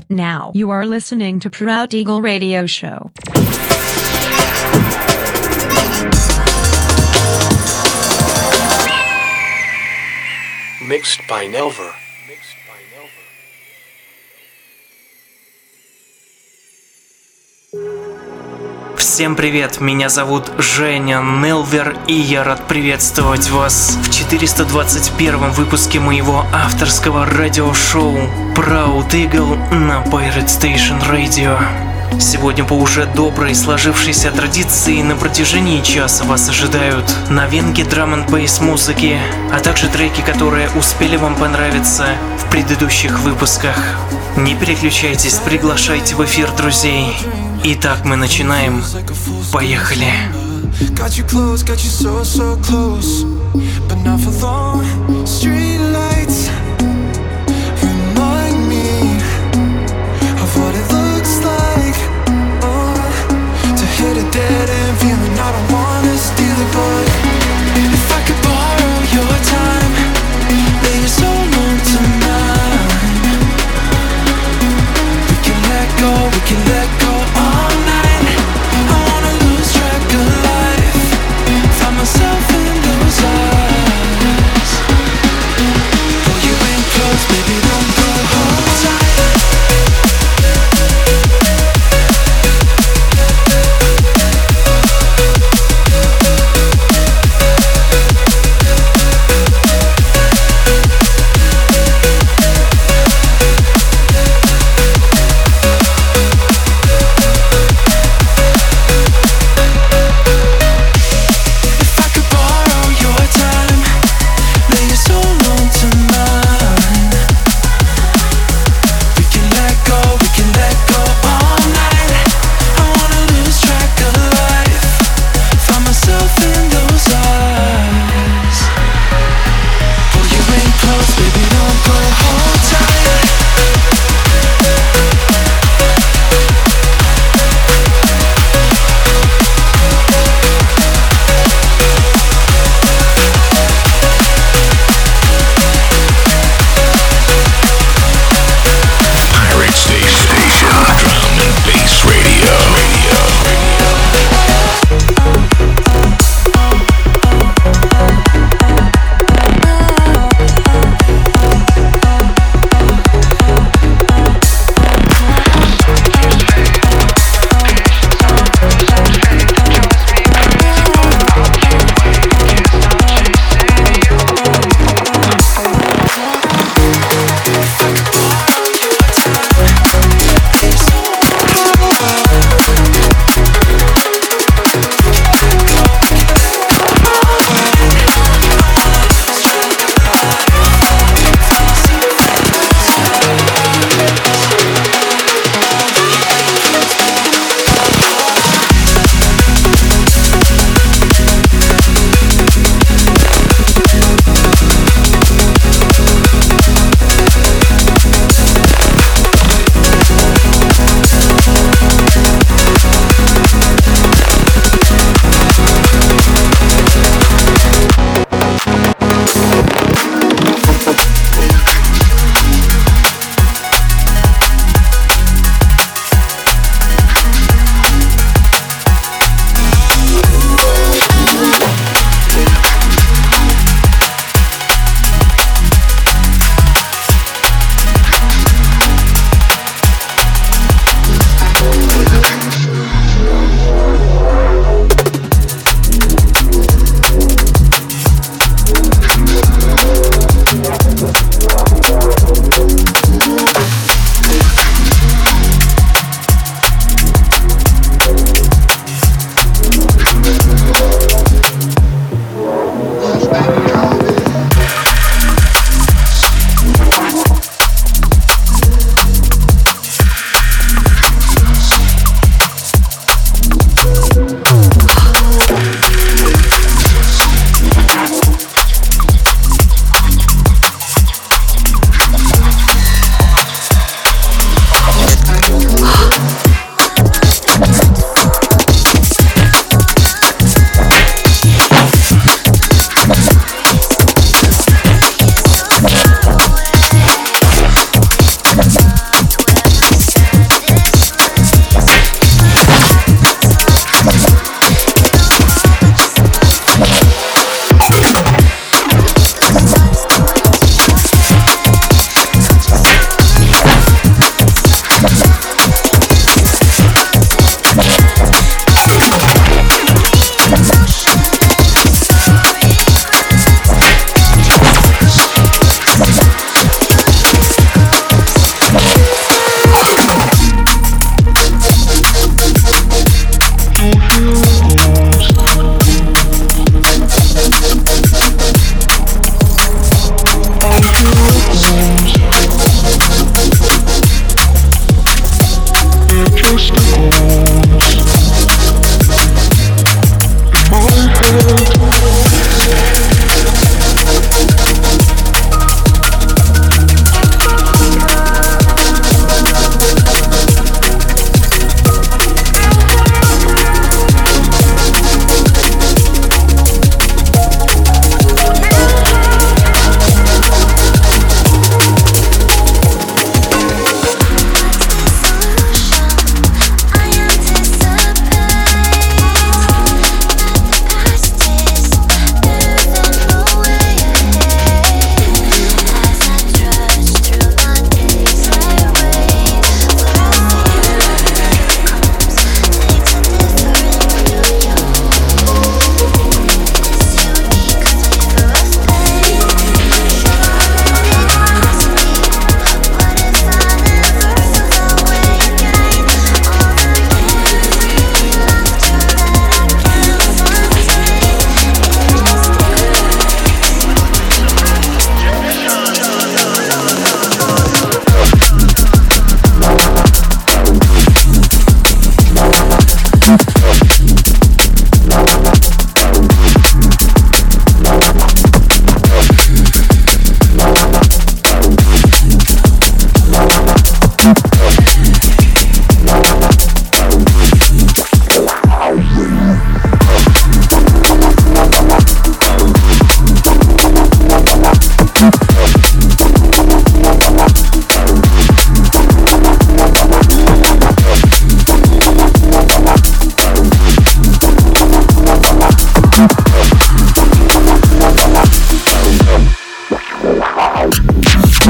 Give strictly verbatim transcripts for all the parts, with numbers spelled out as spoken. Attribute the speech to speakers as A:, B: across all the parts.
A: now you are listening to Proud Eagle Radio Show.
B: Mixed by Nelver.
C: Всем привет, меня зовут Женя Нелвер, и я рад приветствовать вас в четыреста двадцать первом выпуске моего авторского радиошоу Proud Eagle на Pirate Station Radio. Сегодня по уже доброй сложившейся традиции на протяжении часа вас ожидают новинки драм-н-бейс музыки, а также треки, которые успели вам понравиться в предыдущих выпусках. Не переключайтесь, приглашайте в эфир друзей. Итак, мы начинаем. Поехали.
D: Dead end feeling I don't wanna steal it, but if I could borrow your time, lay your soul onto mine, we can let go, we can let go all night. I wanna lose track of life, find myself in those eyes.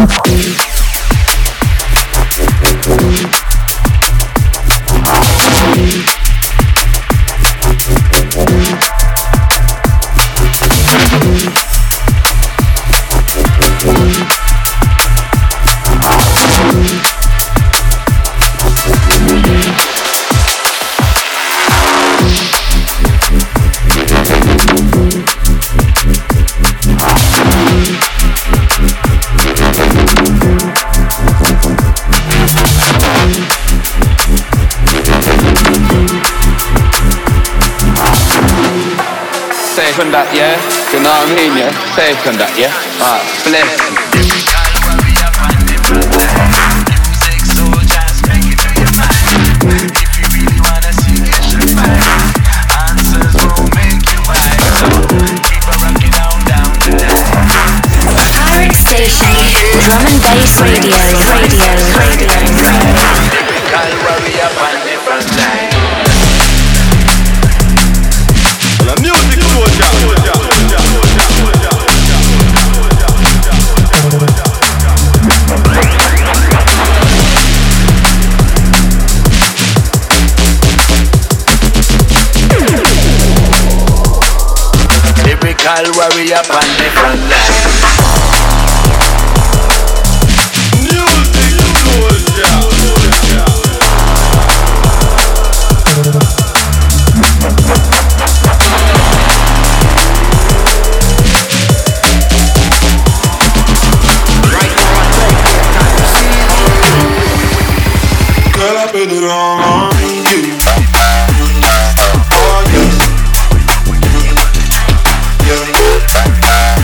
B: Safe and that, yeah? You know what I mean, yeah? Safe and that, yeah? Alright, bless you. Music, so just make it to your mind. If you really wanna see it, you find answers will make you wise. So keep a rocking down, down tonight.
E: Pirate Station, Drum and Bass Radio, Radio, Radio.
B: Typical warrior on the front line. Music soldier. Typical warrior on the front line. Music soldier.
F: Girl, I put it all on you. Oh, yes. Yeah.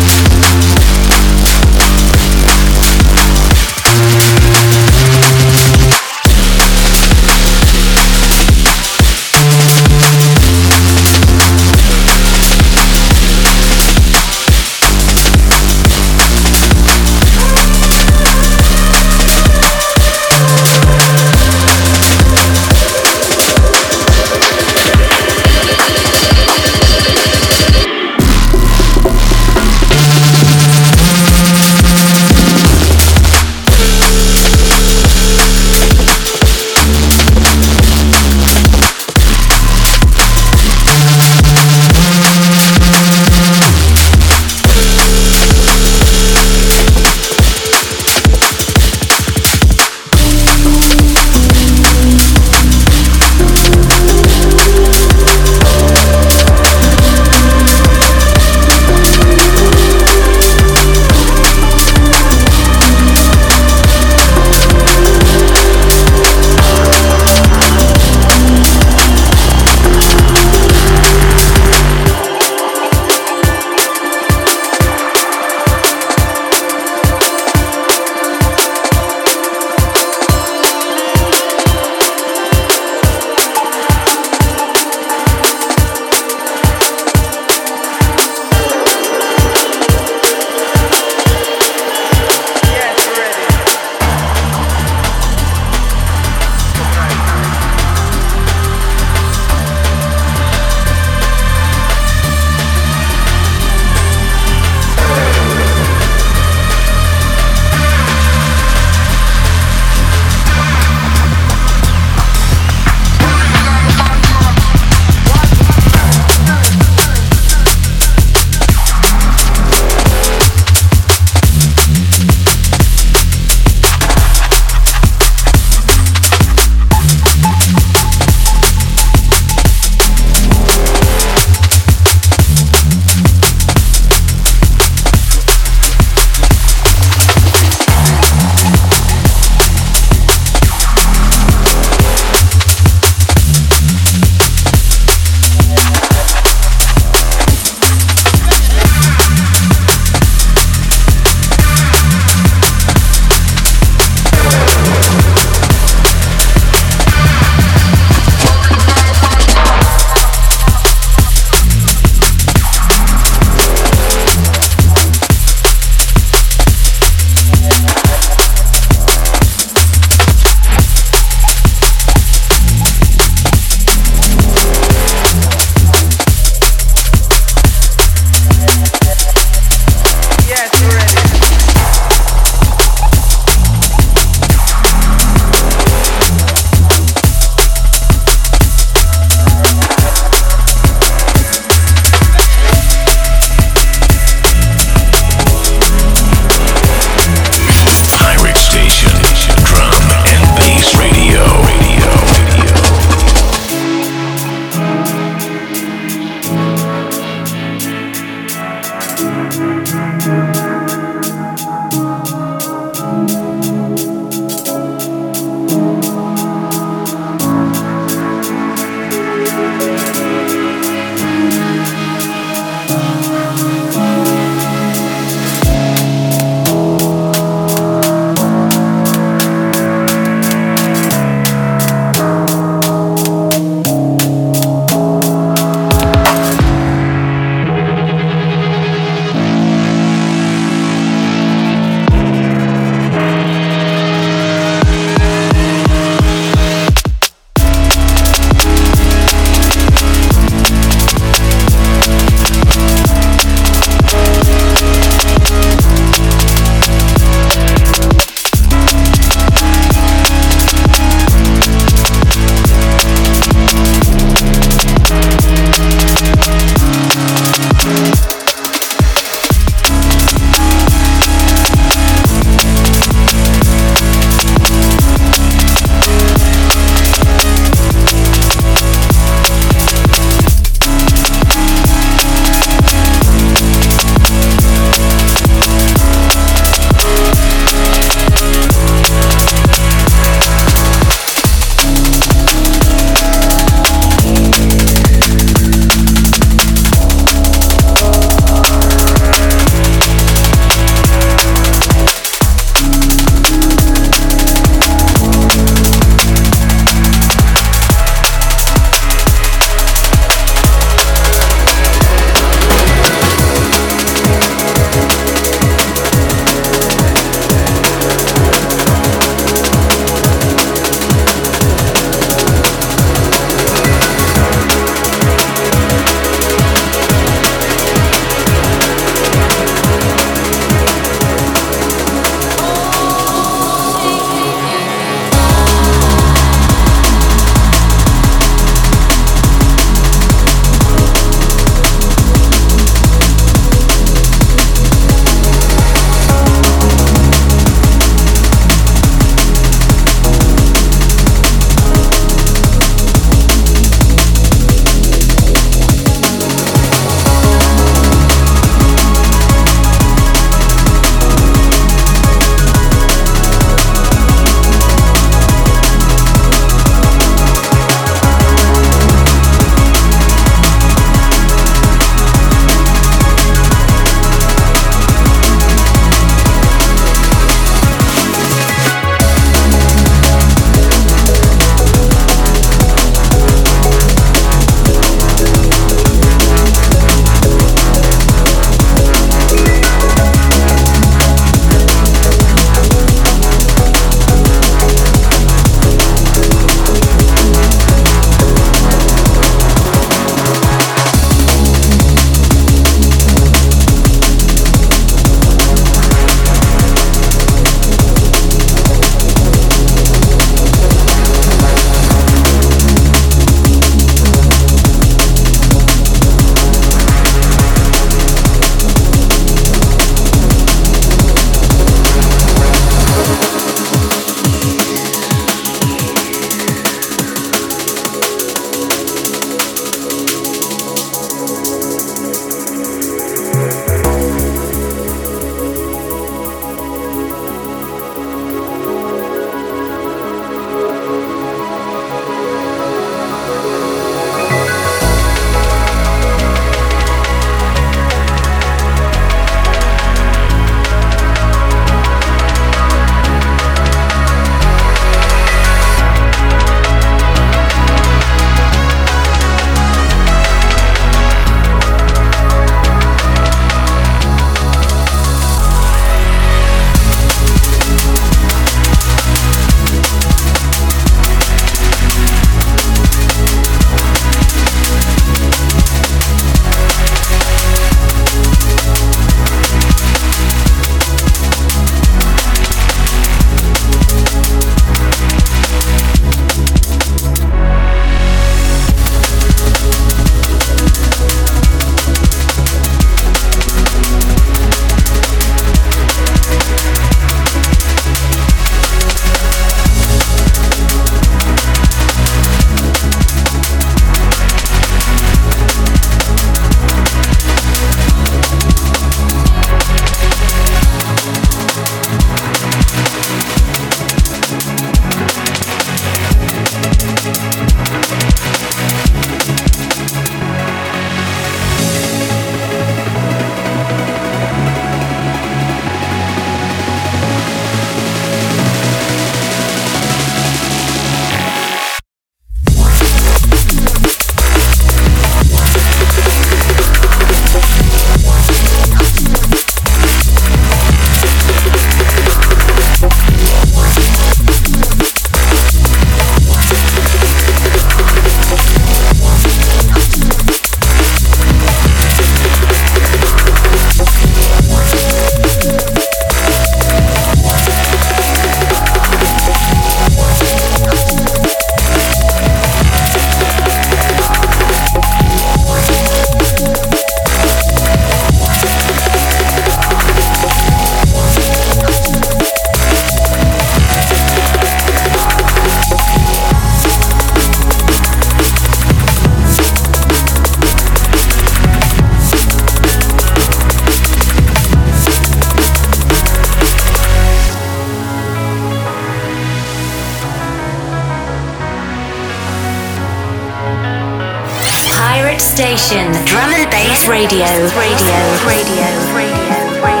E: favorite station, Drum and Bass Radio, Radio, Radio, Radio, Radio.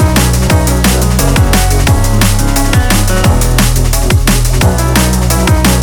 D: Somehow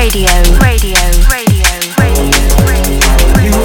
E: Radio, radio, radio, radio, radio.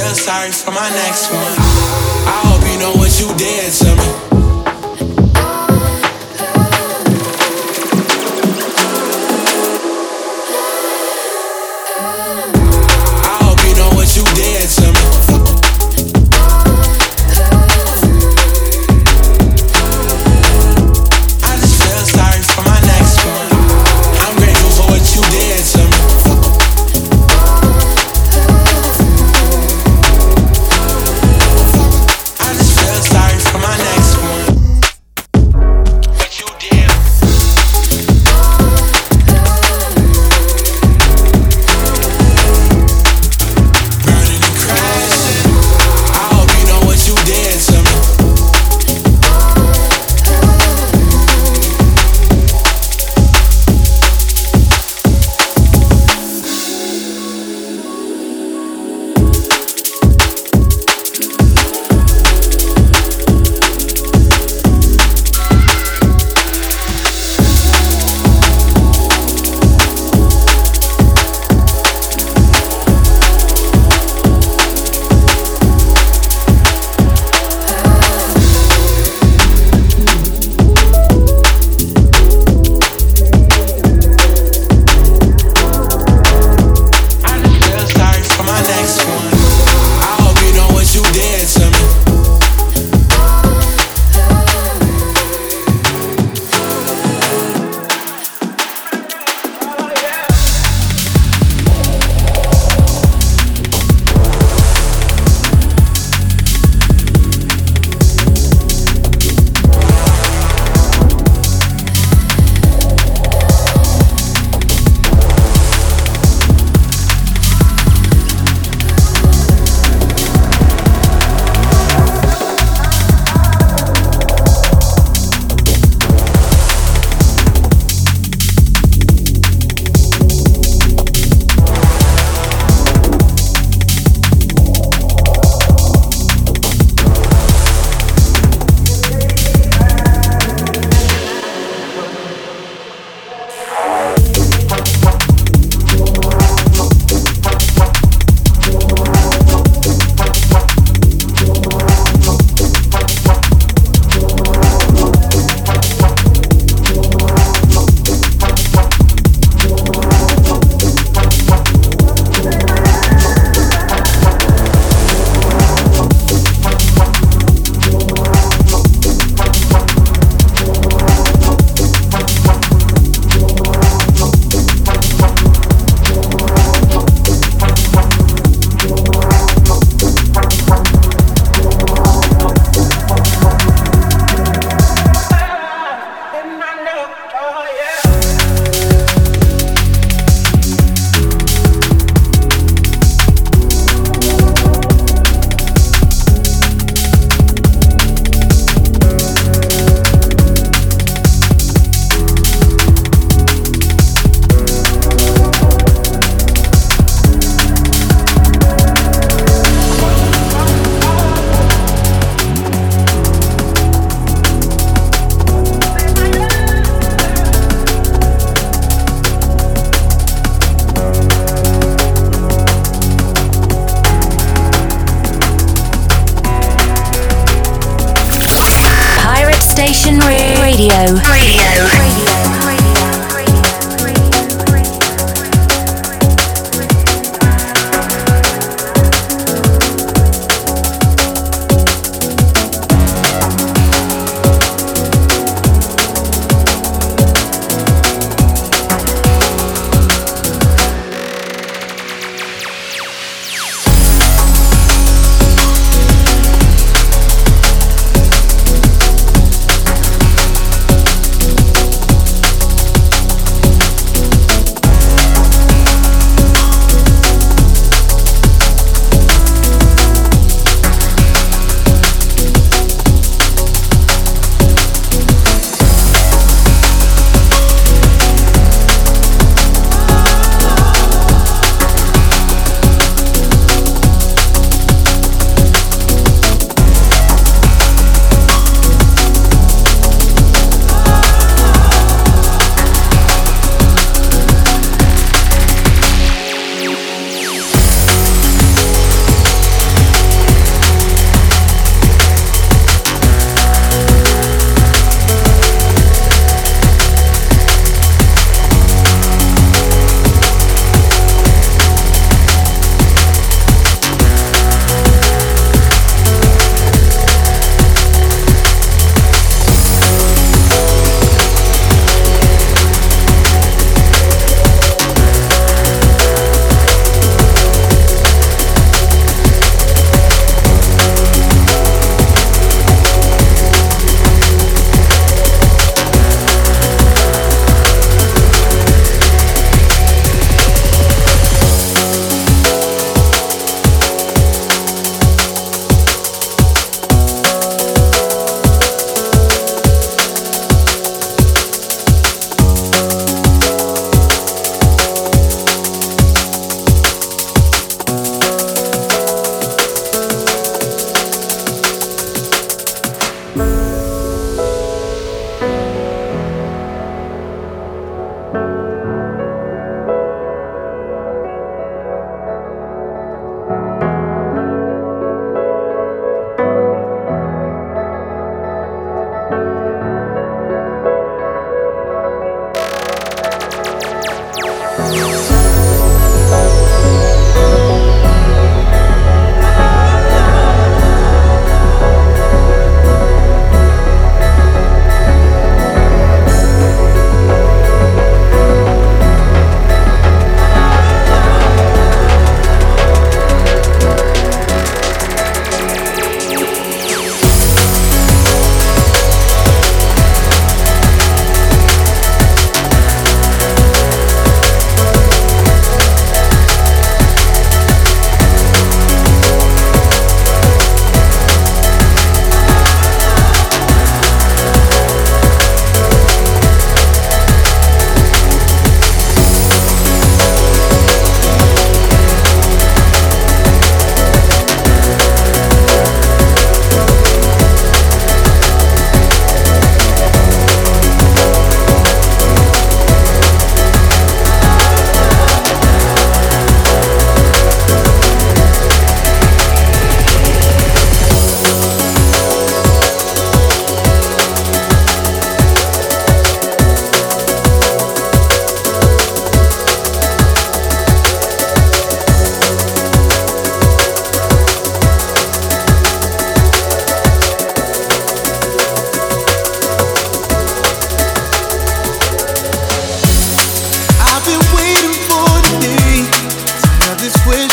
D: feel sorry for my next one. I hope you know what you did to me. I hope you know what you did to me. I just feel sorry for my next one. I'm grateful for what you did to me. I just feel sorry for my next one. What you did. Burning and crashing. I hope you know what you did to me. I just feel sorry for my next one. I hope you know what you did to me.
E: Pirate Station Radio. Radio.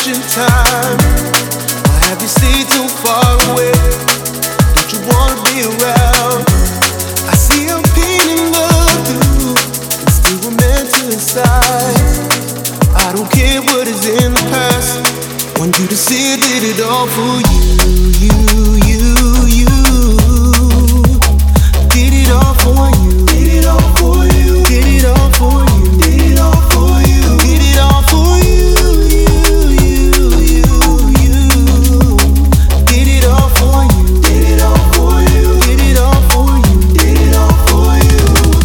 G: vacation time? Or have you stayed too far away? Don't you wanna be around? I see I'm painting love through and still romantic inside. I don't care what is in the past. Want you to see I did it all for you, you, you, you. Did it all for you. Did it all for you. Did it all for you. Did it all for you. Did it all for you, you, you, you, you. Did it all for you. Did it all for you. Did it all for you. Did it all for you.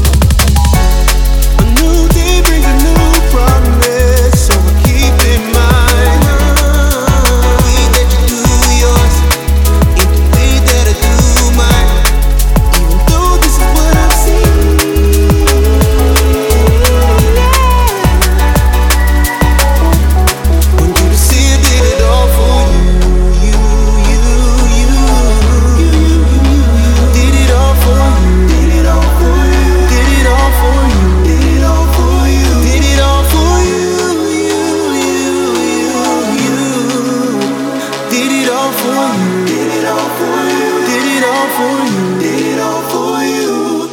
G: A new day brings a new promise, so I keep in mind. The way that you do yours ain't the way that I do mine. Even though this is what I've seen. Want you to see I did it all for you, you, you, you. Did it all for you. Did it all for you. Did it all for you. Did it all for you. Did it all for you, you, you, you. Did it all for you. Did it all for you. Did it all for you. Did it all for you.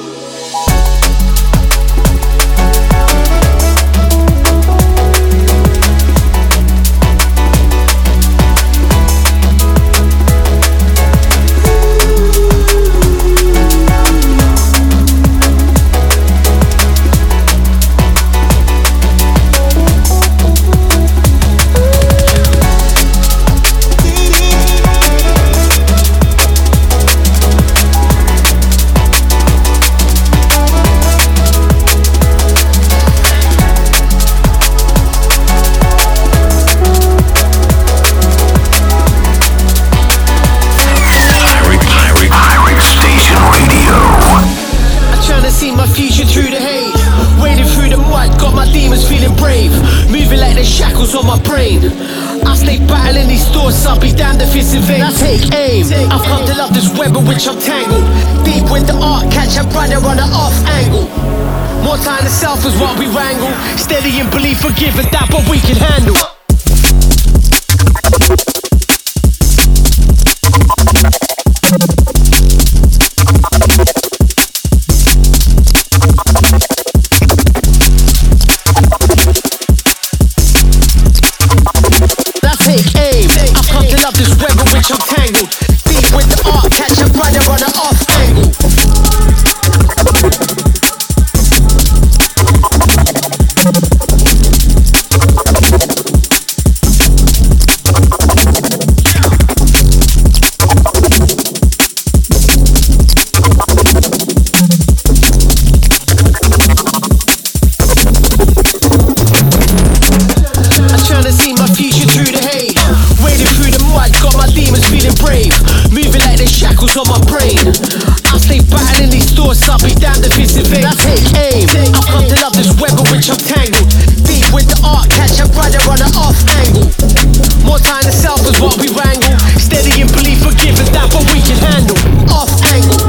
H: On my brain, I stay battling these thoughts. I'll be damned if it's in vain. I take aim. I've come to love this web in which I'm tangled. Deep with the art, catch a brother on an off angle. More time to self is what we wrangle. Steady in belief, forgive it, that what we can handle. I'm tangled, deep with the art, catch a brother on an off angle. I'm trying to see my future through the haze. Wading through the mud, got my demons feeling brave. Moving like there's shackles on my brain. I stay battling these thoughts, I'll be damned if it's in vain. I take aim, I've come to love this web in which I'm tangled. Deep with the art, catch a brother on an off angle. More time to self is what we wrangle. Steady in belief, forgive it, that what we can handle. Off angle.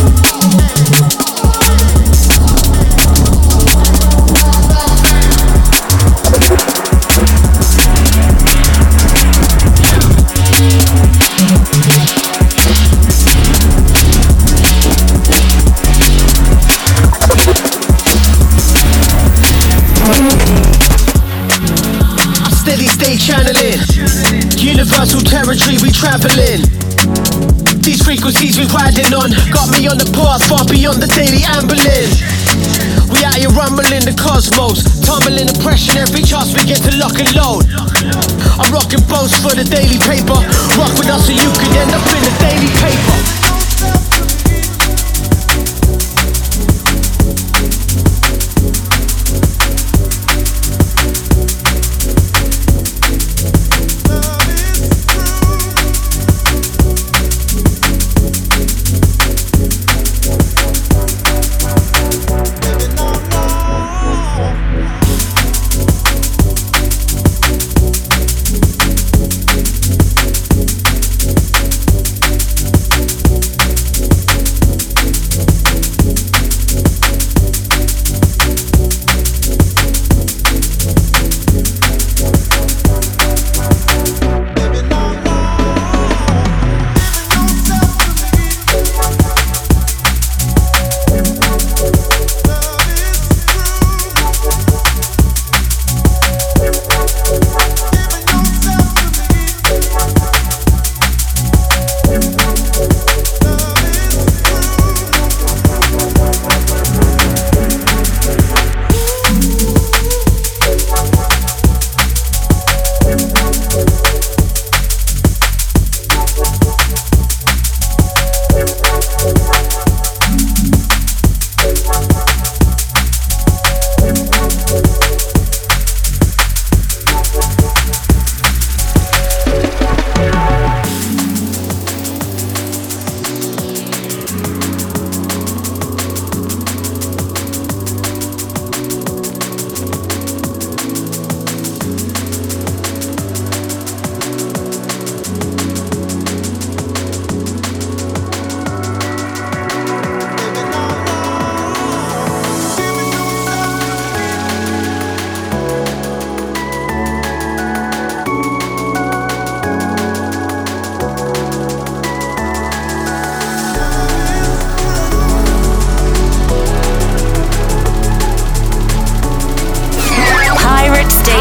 H: Channeling universal territory we traveling. These frequencies we riding on got me on the path far beyond the daily ambling. We out here rumbling the cosmos, tumbling oppression every chance we get to lock and load. I'm rocking boats for the daily paper. Rock with us so you could end up in the daily paper.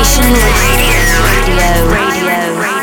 E: station. Radio, radio, radio.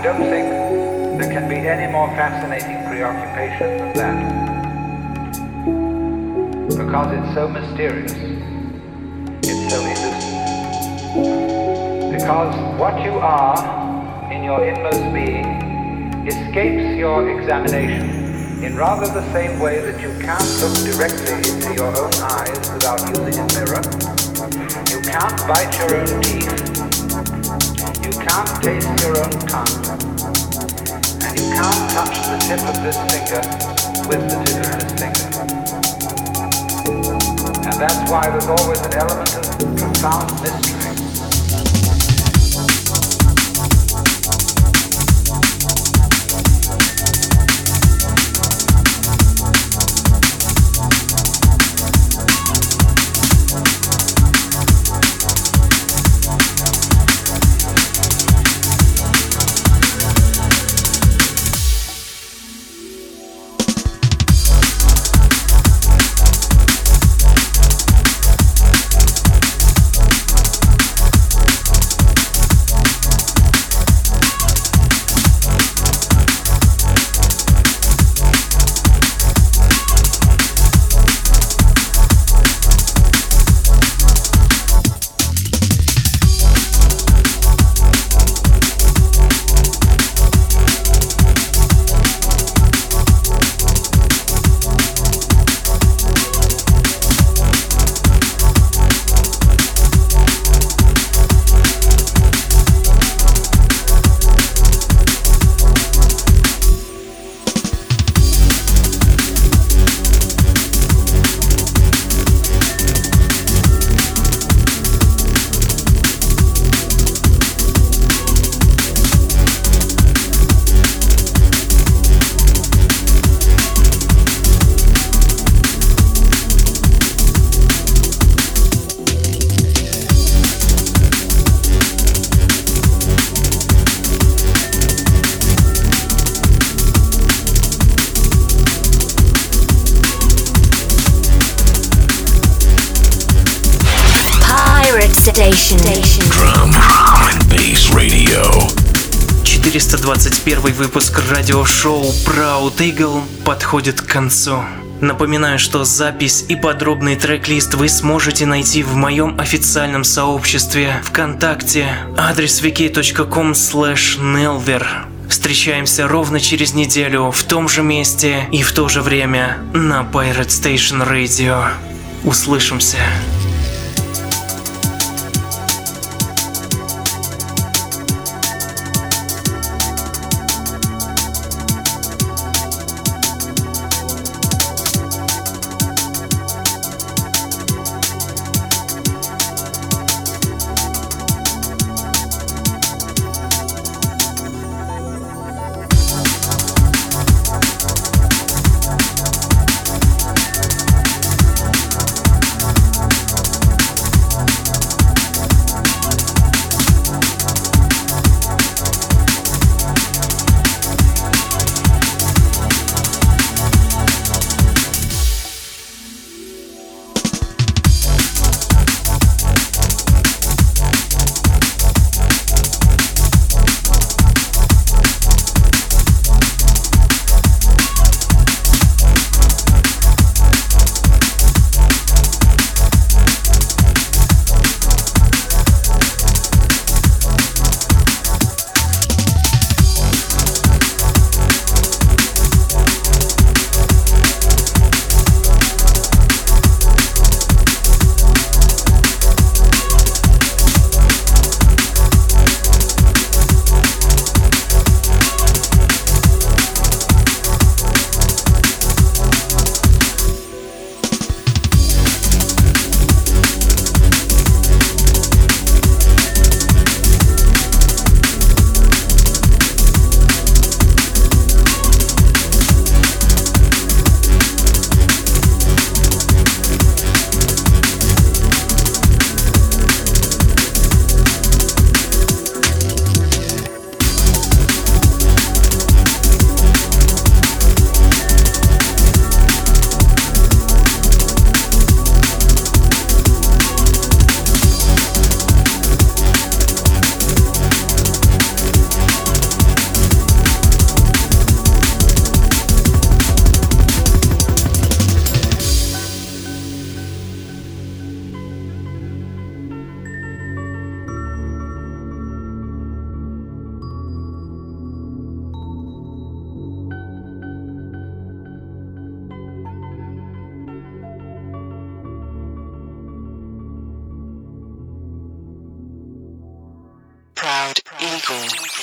I: don't think there can be any more fascinating preoccupation than that. Because it's so mysterious. It's so elusive. Because what you are in your inmost being escapes your examination in rather the same way that you can't look directly into your own eyes without using a mirror. You can't bite your own teeth. You can't taste your own tongue. And you can't touch the tip of this finger with the tip of this finger. And that's why there's always an element of profound mystery.
E: Station.
J: Drum and Bass Radio.
C: четыреста двадцать первый выпуск радиошоу Proud Eagle подходит к концу. Напоминаю, что запись и подробный трек-лист вы сможете найти в моем официальном сообществе ВКонтакте, адрес ви кей точка ком слэш нелвер. Встречаемся ровно через неделю в том же месте и в то же время на Pirate Station Radio. Услышимся.
B: twinkle.